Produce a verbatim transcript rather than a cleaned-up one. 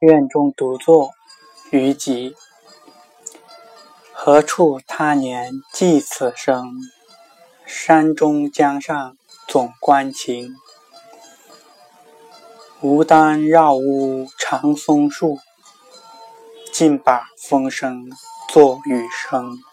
院中独坐，于己。何处他年寄此生？山中江上总关情。无单绕屋长松树，尽把风声作雨声。